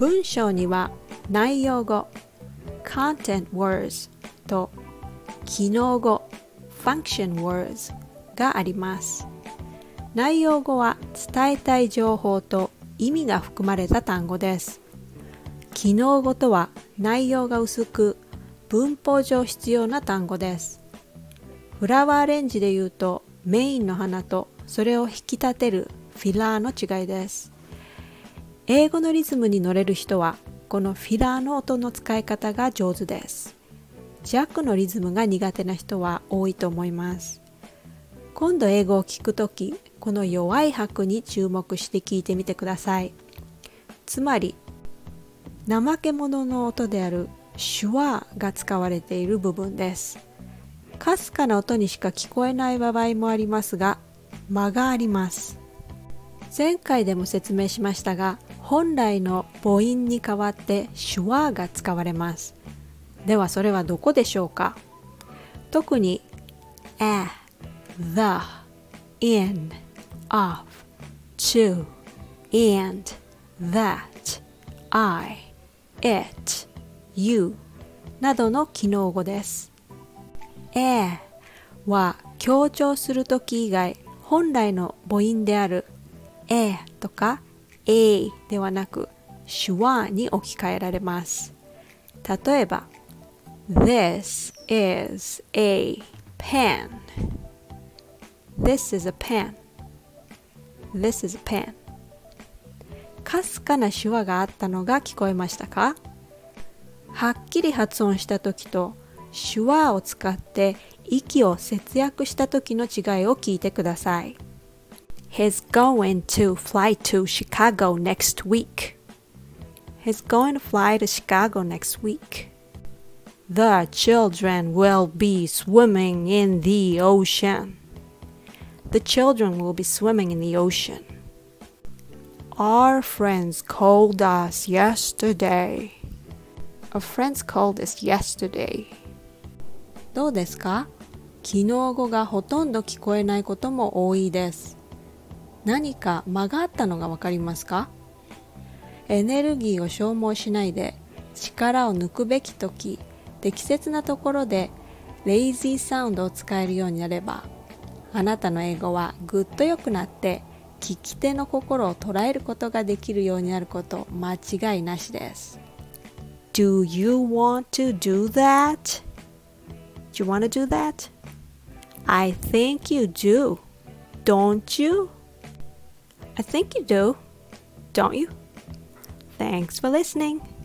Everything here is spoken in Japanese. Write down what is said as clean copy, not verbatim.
文章には内容語 content words と機能語 function words があります。内容語は伝えたい情報と意味が含まれた単語です。機能語とは内容が薄く文法上必要な単語です。フラワーアレンジで言うとメインの花とそれを引き立てるフィラーの違いです。英語のリズムに乗れる人はこのフィラーの音の使い方が上手です。弱のリズムが苦手な人は多いと思います。今度英語を聞くとき、この弱い拍に注目して聞いてみてください。つまり、怠け者の音である手話が使われている部分です。かすかな音にしか聞こえない場合もありますが、間があります。前回でも説明しましたが、本来の母音に代わって手話が使われます。ではそれはどこでしょうか？特に a, the, in, of, to, and, that, I, it, you などの機能語です。は強調するとき以外、本来の母音であるとかではなく手話に置き換えられます。例えば This is a pen. This is a pen. This is a pen. かすかな手話があったのが聞こえましたか？はっきり発音したときと手話を使って息を節約したときの違いを聞いてください。He's going to fly to Chicago next week. He's going to fly to Chicago next week. The children will be swimming in the ocean. The children will be swimming in the ocean. Our friends called us yesterday. Our friends called us yesterday. どうですか？機能語がほとんど聞こえないことも多いです。何か間があったのがわかりますか？エネルギーを消耗しないで力を抜くべきとき、適切なところでレイジーサウンドを使えるようになれば、あなたの英語はぐっと良くなって聞き手の心を捉えることができるようになること間違いなしです。Do you want to do that? Do you want to do that? I think you do. Don't you? I think you do. Don't you? Thanks for listening.